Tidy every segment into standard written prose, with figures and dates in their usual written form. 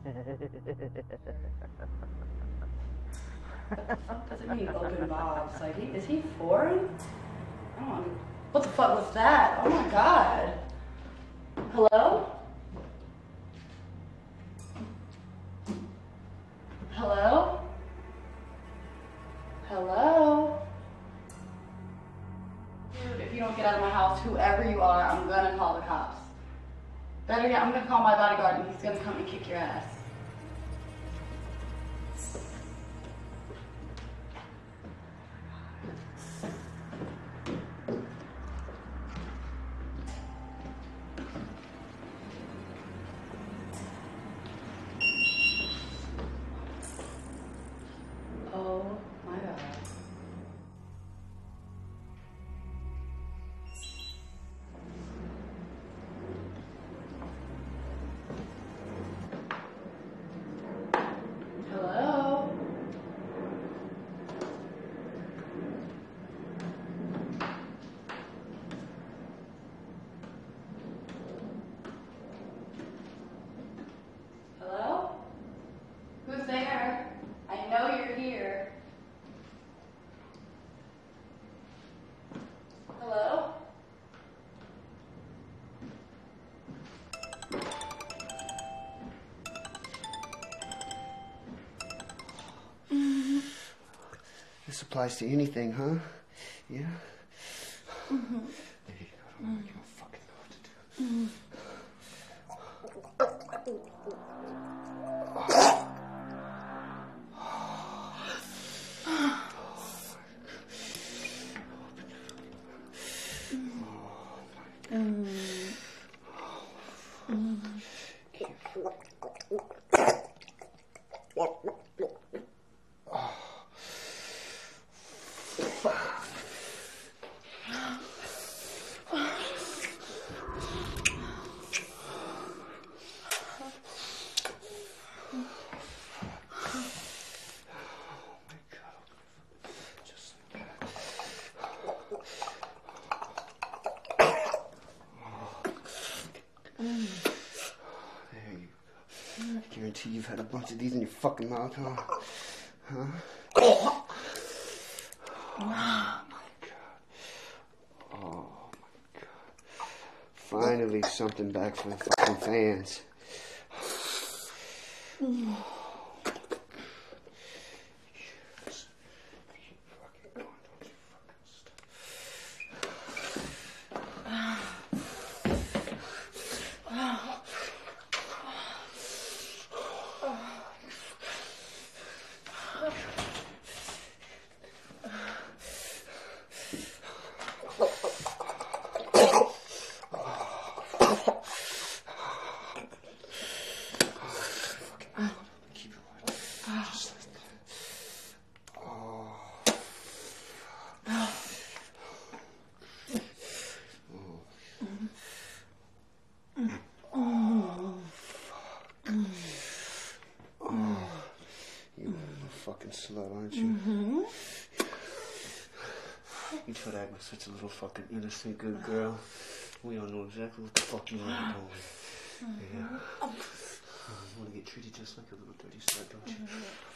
What the fuck does it mean, open bobs? Like, is he foreign? I don't know. What the fuck was that? Oh my god. Hello? Hello? Hello? Dude, if you don't get out of my house, whoever you are, I'm gonna call the cops. Better yet, I'm gonna call my bodyguard and he's gonna come and kick your ass. Oh my god. Hello? Hello? Who's there? I know you're here. Hello? This applies to anything, huh? Yeah? Mm-hmm. There you go. I don't give a fucking know what to do. I guarantee you've had a bunch of these in your fucking mouth, huh? Huh? Oh my god. Oh my god. Finally something back from the fucking fans. Fucking slut, aren't you? Mm-hmm. You try to act like such a little fucking innocent good girl. We all know exactly what the fuck you want to do. Yeah. You want to get treated just like a little dirty slut, don't you?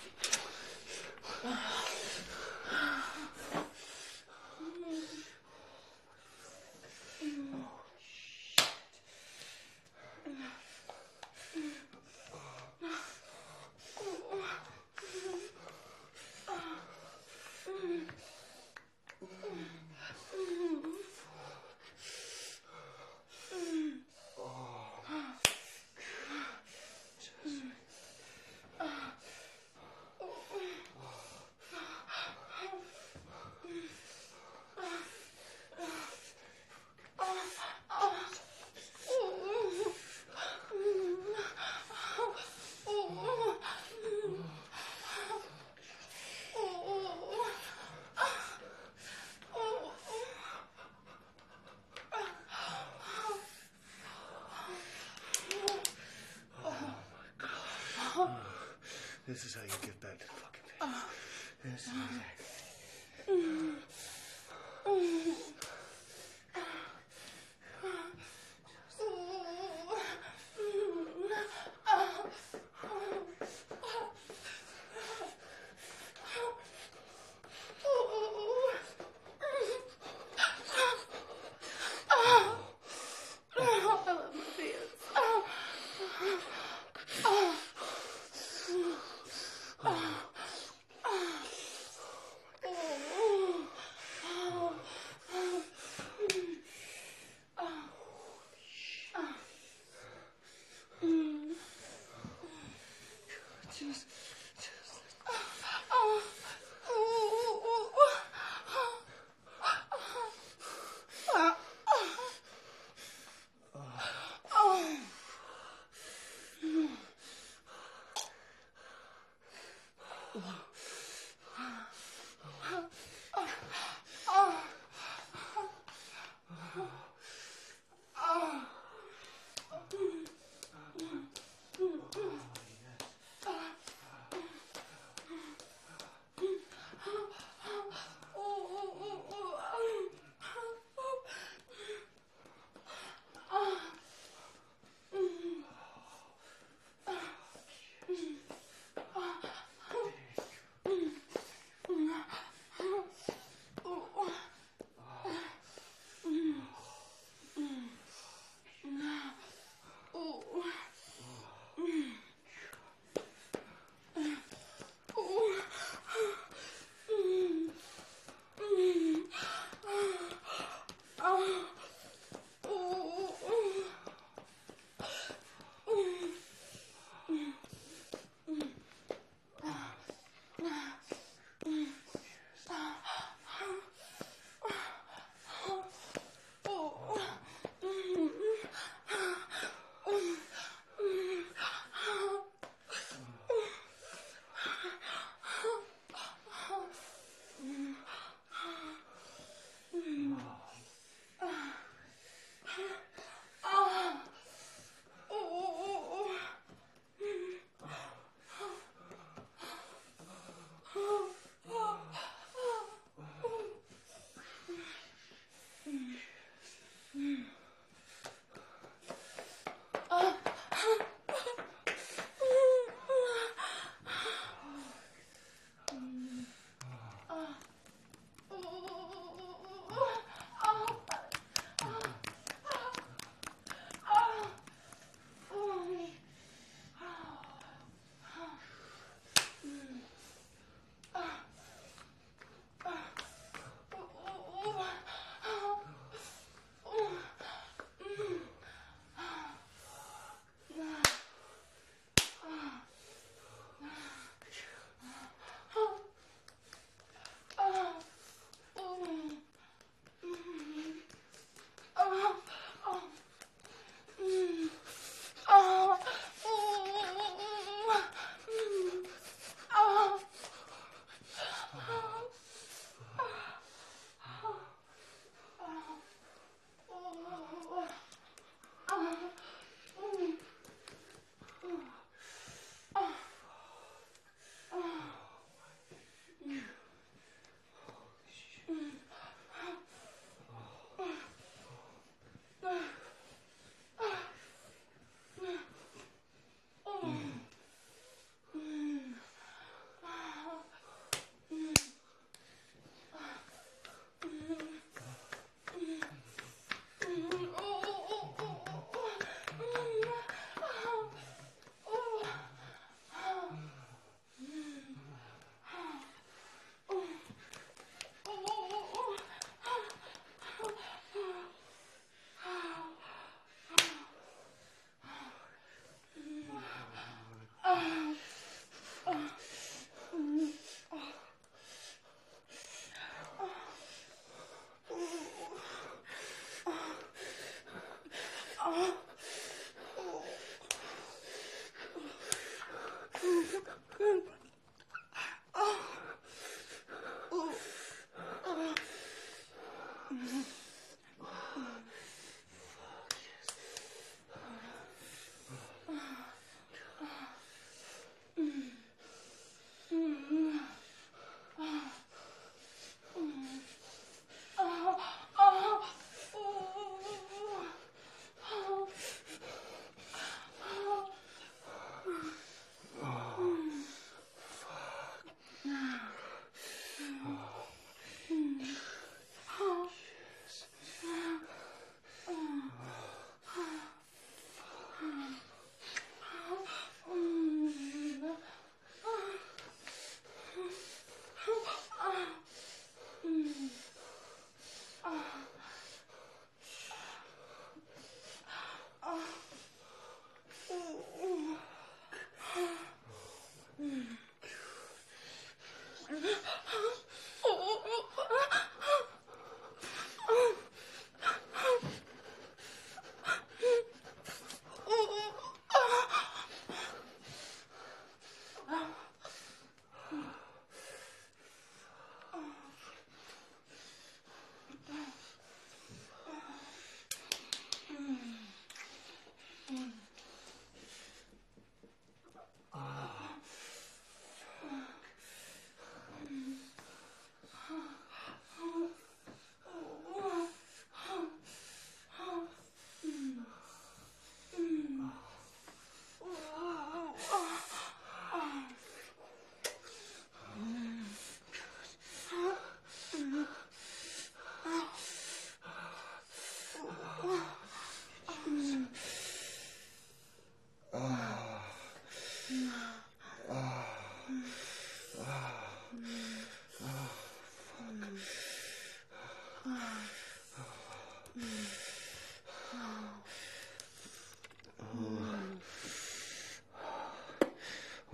This is how you get back to the fucking bed. This is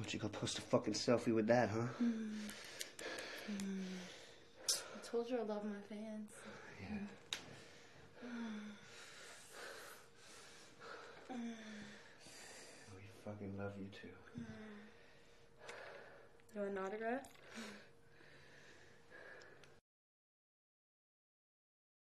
don't you go post a fucking selfie with that, huh? I told you I love my fans. Yeah. We fucking love you too. You want an autograph?